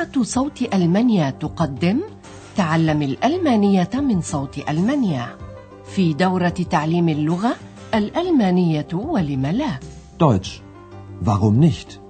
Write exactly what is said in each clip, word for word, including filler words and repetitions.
إذاعة صوت ألمانيا تقدم تعلم الألمانية من صوت ألمانيا في دورة تعليم اللغة الألمانية ولم لا. Deutsch. Warum nicht?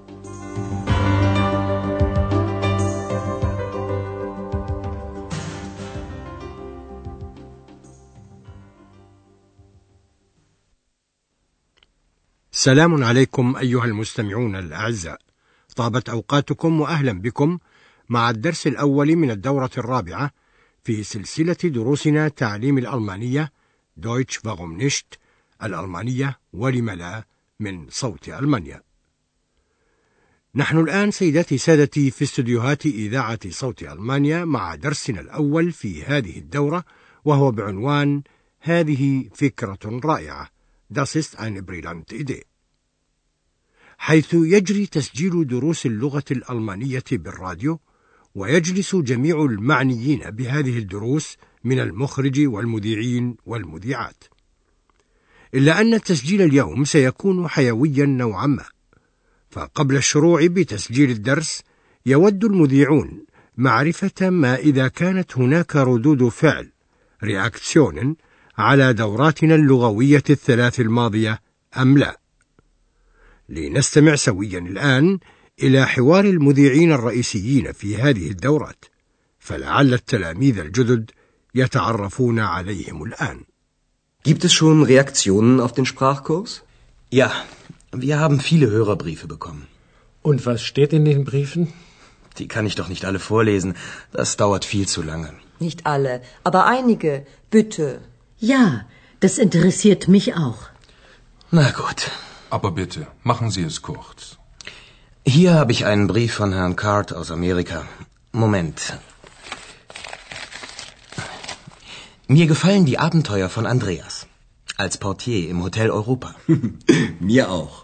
سلام عليكم أيها المستمعون الأعزاء، طابت أوقاتكم وأهلا بكم مع الدرس الأول من الدورة الرابعة في سلسلة دروسنا تعليم الألمانية Deutsch warum nicht الألمانية ولم لا من صوت ألمانيا. نحن الآن سيداتي سادتي في استديوهات إذاعة صوت ألمانيا مع درسنا الأول في هذه الدورة، وهو بعنوان هذه فكرة رائعة Das ist eine brillante Idee، حيث يجري تسجيل دروس اللغة الألمانية بالراديو، ويجلس جميع المعنيين بهذه الدروس من المخرج والمذيعين والمذيعات. إلا أن التسجيل اليوم سيكون حيويا نوعا ما، فقبل الشروع بتسجيل الدرس يود المذيعون معرفة ما إذا كانت هناك ردود فعل رياكسيون على دوراتنا اللغوية الثلاث الماضية أم لا. لنستمع سويا الآن إلى حوار المذيعين الرئيسيين في هذه الدورات، فلعل التلاميذ الجدد يتعرفون عليهم الآن. Gibt es schon Reaktionen auf den Sprachkurs? Ja, wir haben viele Hörerbriefe bekommen. Und was steht in den Briefen? Die kann ich doch nicht alle vorlesen. Das dauert viel zu lange. Nicht alle, aber einige. Bitte. Ja, das interessiert mich auch. Na gut. Aber bitte, machen Sie es kurz. Hier habe ich einen Brief von Herrn Card aus Amerika. Moment. Mir gefallen die Abenteuer von Andreas als Portier im Hotel Europa. Mir auch.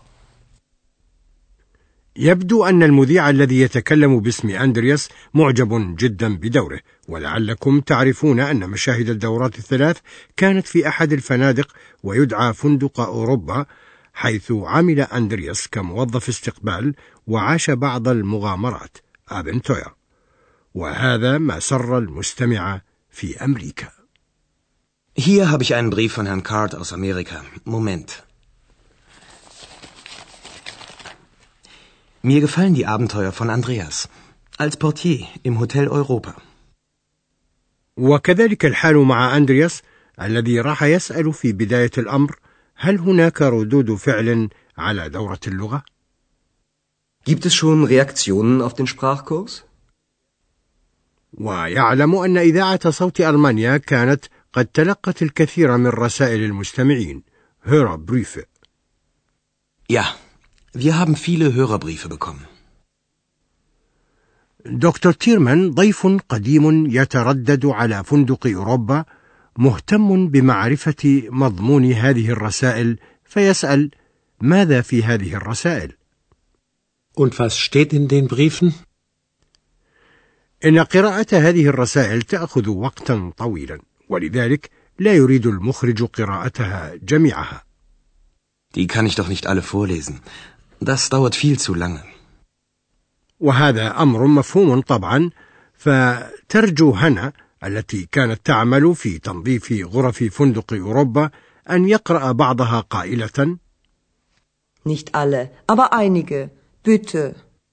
يبدو أن المذيع الذي يتكلم باسم أندرياس معجب جدا بدوره، ولعلكم تعرفون أن مشاهد الدورات الثلاث كانت في أحد الفنادق ويدعى فندق أوروبا، حيث عمل أندرياس كموظف استقبال وعاش بعض المغامرات أبنتويا، وهذا ما سر المستمع في أمريكا. Hier habe ich einen Brief von Herrn Card aus Amerika. Moment. Mir gefallen die Abenteuer von Andreas als Portier im Hotel Europa. وكذلك الحال مع أندرياس الذي راح يسأل في بداية الأمر هل هناك ردود فعل على دورة اللغة؟ Gibt es schon Reaktionen auf den Sprachkurs? ويعلم أن إذاعة صوت ألمانيا كانت قد تلقت الكثير من رسائل المستمعين Hörerbriefe. Ja, wir haben viele Hörerbriefe bekommen. دكتور تيرمان ضيف قديم يتردد على فندق أوروبا، مهتم بمعرفة مضمون هذه الرسائل، فيسأل ماذا في هذه الرسائل؟ Und was steht in den Briefen? إن قراءة هذه الرسائل تأخذ وقتا طويلا، ولذلك لا يريد المخرج قراءتها جميعها. Die kann ich doch nicht alle vorlesen. Das dauert viel zu lange. وهذا أمر مفهوم طبعا، فترجو هنا التي كانت تعمل في تنظيف غرف فندق أوروبا أن يقرأ بعضها قائلة Nicht alle, aber einige. Bitte.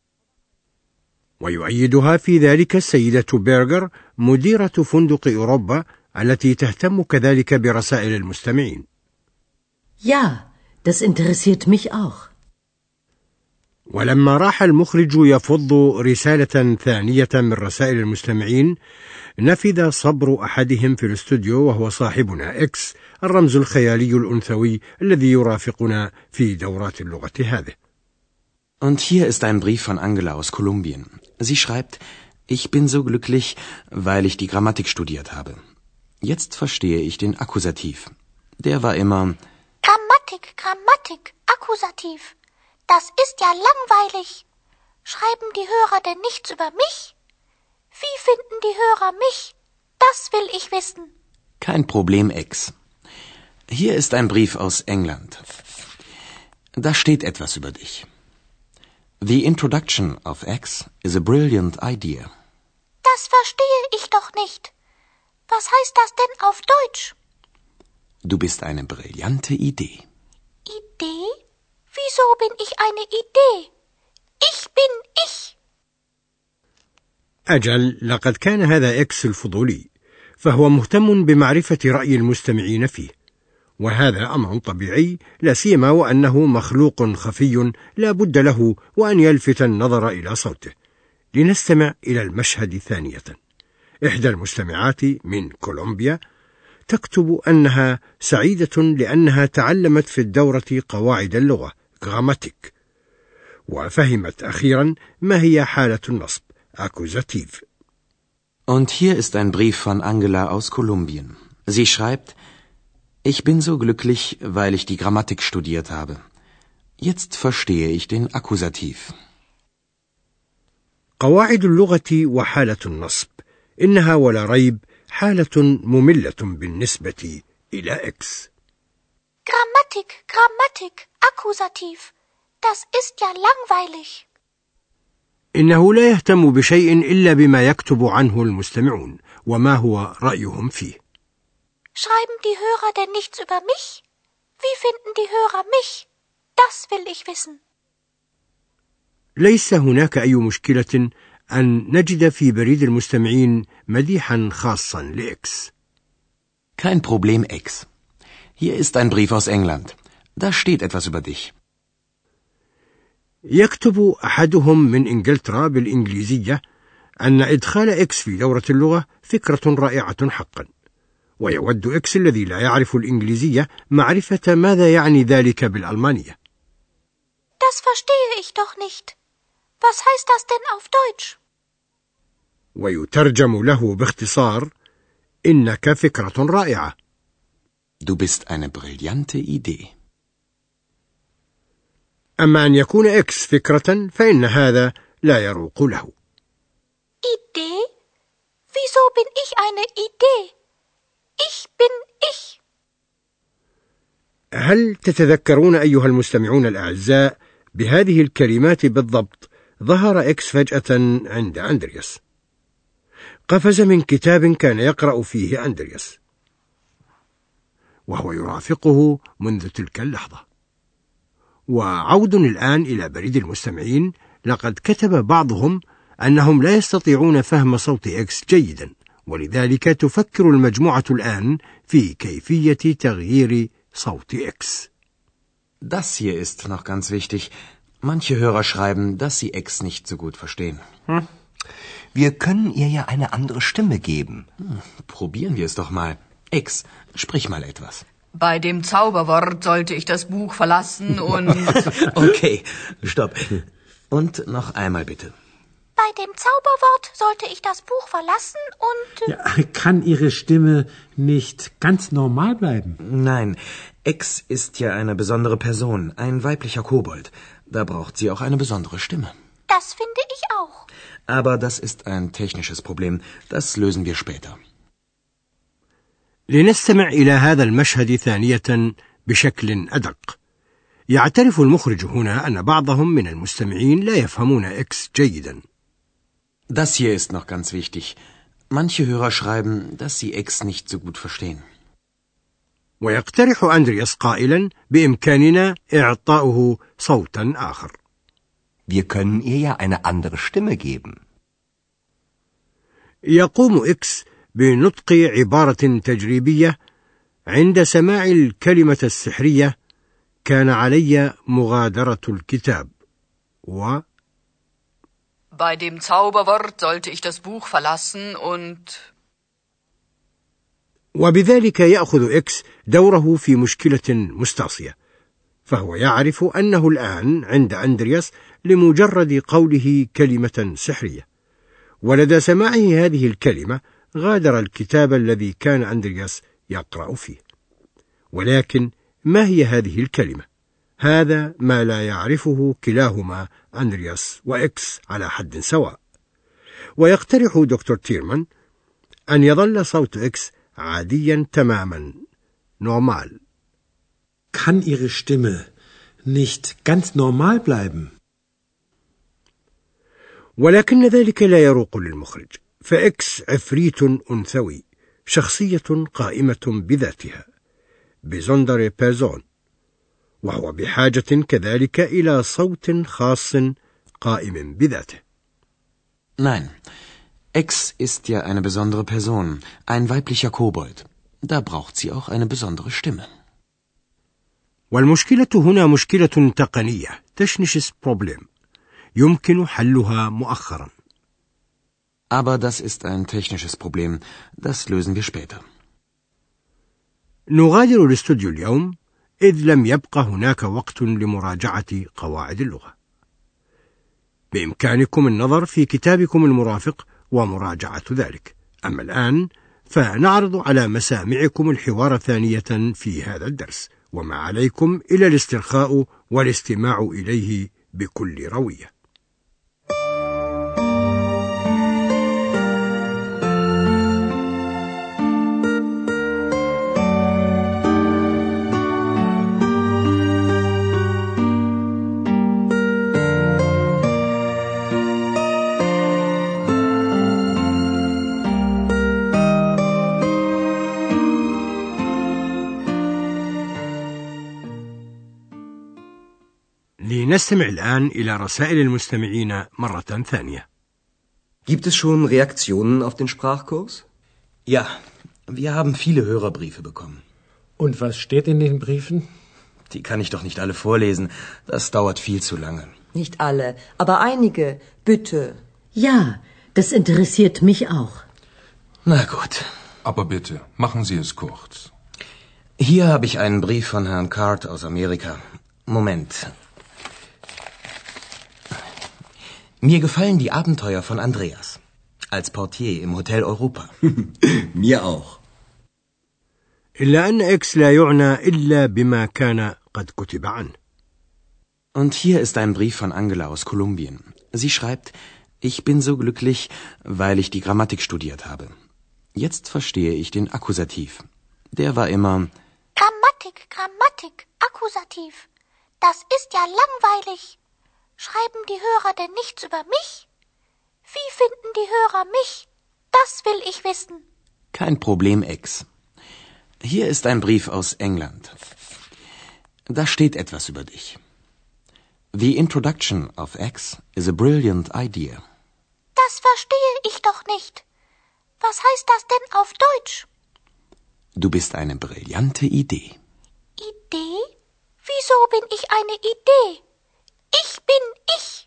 ويؤيدها في ذلك السيدة بيرغر مديرة فندق أوروبا التي تهتم كذلك برسائل المستمعين. Ja, das interessiert mich auch. ولما راح المخرج يفض رسالة ثانية من رسائل المستمعين، نفذ صبر أحدهم في الاستوديو، وهو صاحبنا إكس، الرمز الخيالي الأنثوي الذي يرافقنا في دورات اللغة هذه. Und hier ist ein Brief von Angela aus Kolumbien. Sie schreibt, ich bin so glücklich, weil ich die Grammatik studiert habe. Jetzt verstehe ich den Akkusativ. Der war immer Grammatik, Grammatik, Akkusativ. Das ist ja langweilig. Schreiben die Hörer denn nichts über mich? Wie finden die Hörer mich? Das will ich wissen. Kein Problem, Ex. Hier ist ein Brief aus England. Da steht etwas über dich. The introduction of X is a brilliant idea. Das verstehe ich doch nicht. Was heißt das denn auf Deutsch? Du bist eine brillante Idee. Idee? Wieso bin ich eine Idee? Ich bin ich. أجل، لقد كان هذا إكس الفضولي، فهو مهتم بمعرفة رأي المستمعين فيه، وهذا أمر طبيعي، لا سيما وأنه مخلوق خفي لا بد له وأن يلفت النظر إلى صوته. لنستمع إلى المشهد ثانية. إحدى المستمعات من كولومبيا تكتب أنها سعيدة لأنها تعلمت في الدورة قواعد اللغة غراماتيك، وفهمت أخيرا ما هي حالة النصب Akkusativ. Und hier ist ein Brief von Angela aus Kolumbien. Sie schreibt: Ich bin so glücklich, weil ich die Grammatik studiert habe. Jetzt verstehe ich den Akkusativ. قواعد اللغة وحالة النصب إنها ولا ريب حالة مملة بالنسبة إلى إكس. Grammatik, Grammatik, Akkusativ. Das ist ja langweilig. إنه لا يهتم بشيء إلا بما يكتب عنه المستمعون وما هو رأيهم فيه. Schreiben die Hörer denn nichts über mich? Wie finden die Hörer mich? Das will ich wissen. ليس هناك أي مشكلة أن نجد في بريد المستمعين مديحا خاصا لإكس. Kein Problem, X. Hier ist ein Brief aus England. Da steht etwas über dich. يكتب أحدهم من إنجلترا بالإنجليزية أن إدخال إكس في دورة اللغة فكرة رائعة حقا، ويود إكس الذي لا يعرف الإنجليزية معرفة ماذا يعني ذلك بالألمانية. Das verstehe ich doch nicht. Was heißt das denn auf Deutsch? ويترجم له باختصار: إنك فكرة رائعة. Du bist eine brillante Idee. أما أن يكون إكس فكرة فإن هذا لا يروق له. Idee? Wieso bin ich eine Idee? Ich bin ich. هل تتذكرون أيها المستمعون الأعزاء بهذه الكلمات بالضبط ظهر إكس فجأة عند أندرياس؟ قفز من كتاب كان يقرأ فيه أندرياس، وهو يرافقه منذ تلك اللحظة. وعود الآن إلى بريد المستمعين، لقد كتب بعضهم أنهم لا يستطيعون فهم صوت إكس جيدا، ولذلك تفكر المجموعة الآن في كيفية تغيير صوت إكس. Das hier ist noch ganz wichtig. Manche Hörer schreiben, dass sie X nicht so gut verstehen. Hm. Wir können ihr ja eine andere Stimme geben. Hm, probieren wir es doch mal. X, sprich mal etwas. Bei dem Zauberwort sollte ich das Buch verlassen und... Okay, stopp. Und noch einmal bitte. Bei dem Zauberwort sollte ich das Buch verlassen und... Ja, kann Ihre Stimme nicht ganz normal bleiben? Nein, X ist ja eine besondere Person, ein weiblicher Kobold. Da braucht sie auch eine besondere Stimme. Das finde ich auch. Aber das ist ein technisches Problem. Das lösen wir später. لنستمع إلى هذا المشهد ثانية بشكل أدق. يعترف المخرج هنا أن بعضهم من المستمعين لا يفهمون إكس جيدا. Das hier ist noch ganz wichtig. Manche Hörer schreiben, dass sie X nicht so gut verstehen. ويقترح أندرياس قائلا: بإمكاننا إعطاؤه صوتا آخر. Wir können ihr ja eine andere Stimme geben. يقوم إكس بنطق عبارة تجريبية عند سماع الكلمة السحرية: كان علي مغادرة الكتاب. و Bei dem Zauberwort sollte ich das Buch verlassen und... وبذلك يأخذ إكس دوره في مشكلة مستعصية، فهو يعرف أنه الآن عند أندرياس لمجرد قوله كلمة سحرية، ولدى سماعه هذه الكلمة غادر الكتاب الذي كان أندرياس يقرأ فيه. ولكن ما هي هذه الكلمة؟ هذا ما لا يعرفه كلاهما أندرياس وإكس على حد سواء. ويقترح دكتور تيرمان أن يظل صوت إكس عاديا تماما، normal. Kann Ihre Stimme nicht ganz normal bleiben? ولكن ذلك لا يروق للمخرج، فإكس عفريت أنثوي، شخصية قائمة بذاتها، besondere Person، وهو بحاجة كذلك إلى صوت خاص قائم بذاته. Nein, Ex ist ja eine besondere Person, ein weiblicher Kobold. Da braucht sie auch eine besondere Stimme. والمشكلة هنا مشكلة تقنية، technisches Problem، يمكن حلها مؤخرا. Aber das ist ein technisches Problem, das lösen wir später. نغادر الاستوديو اليوم إذ لم يبقى هناك وقت لمراجعة قواعد اللغة. بإمكانكم النظر في كتابكم المرافق ومراجعة ذلك. أما الآن فنعرض على مسامعكم الحوار ثانية في هذا الدرس، وما عليكم إلى الاسترخاء والاستماع إليه بكل روية. لنستمع الآن إلى رسائل المستمعين مرة ثانية. Gibt es schon Reaktionen auf den Sprachkurs? Ja, wir haben viele Hörerbriefe bekommen. Und was steht in den Briefen? Die kann ich doch nicht alle vorlesen. Das dauert viel zu lange. Nicht alle, aber einige, bitte. Ja, das interessiert mich auch. Na gut. Aber bitte, machen Sie es kurz. Hier habe ich einen Brief von Herrn Card aus Amerika. Moment. Mir gefallen die Abenteuer von Andreas als Portier im Hotel Europa. Mir auch. إلا أن إكس لا يعنى إلا بما كان قد كتب عنه. Und hier ist ein Brief von Angela aus Kolumbien. Sie schreibt, ich bin so glücklich, weil ich die Grammatik studiert habe. Jetzt verstehe ich den Akkusativ. Der war immer Grammatik, Grammatik, Akkusativ. Das ist ja langweilig. Schreiben die Hörer denn nichts über mich? Wie finden die Hörer mich? Das will ich wissen. Kein Problem, Ex. Hier ist ein Brief aus England. Da steht etwas über dich. The introduction of X is a brilliant idea. Das verstehe ich doch nicht. Was heißt das denn auf Deutsch? Du bist eine brillante Idee. Idee? Wieso bin ich eine Idee? Ich bin ich.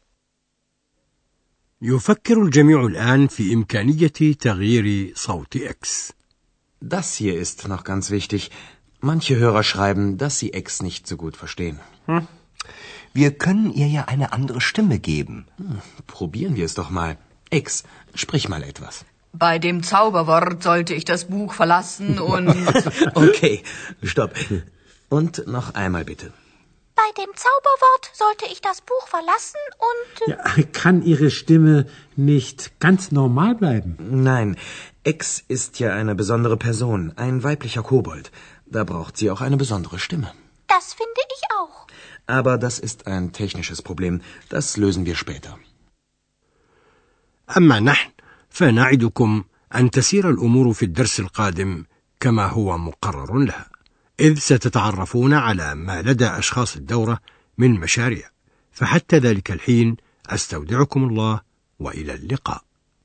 يفكر الجميع الآن في إمكانية تغيير صوت إكس. Das hier ist noch ganz wichtig. Manche Hörer schreiben, dass sie Ex nicht so gut verstehen. Hm. Wir können ihr ja eine andere Stimme geben. Hm, probieren wir es doch mal. Ex, sprich mal etwas. Bei dem Zauberwort sollte ich das Buch verlassen und... Okay, stopp. Und noch einmal bitte. Bei dem Zauberwort sollte ich das Buch verlassen und... Ja, kann Ihre Stimme nicht ganz normal bleiben? Nein, Ex ist ja eine besondere Person, ein weiblicher Kobold. Da braucht sie auch eine besondere Stimme. Das finde ich auch. Aber das ist ein technisches Problem. Das lösen wir später. أما نحن فنعدكم أن تسير الأمور في الدرس القادم كما هو مقرر لها، إذ ستتعرفون على ما لدى أشخاص الدورة من مشاريع. فحتى ذلك الحين أستودعكم الله وإلى اللقاء.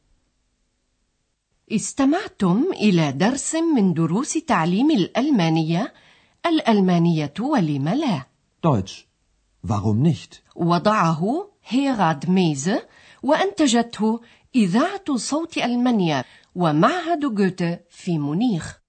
استمعتم إلى درس من دروس تعليم الألمانية. الألمانية ولم لا؟ Deutsch. Warum nicht? وضعه هيراد ميزه وأنتجته إذاعة صوت ألمانيا ومعهد جوته في مونيخ.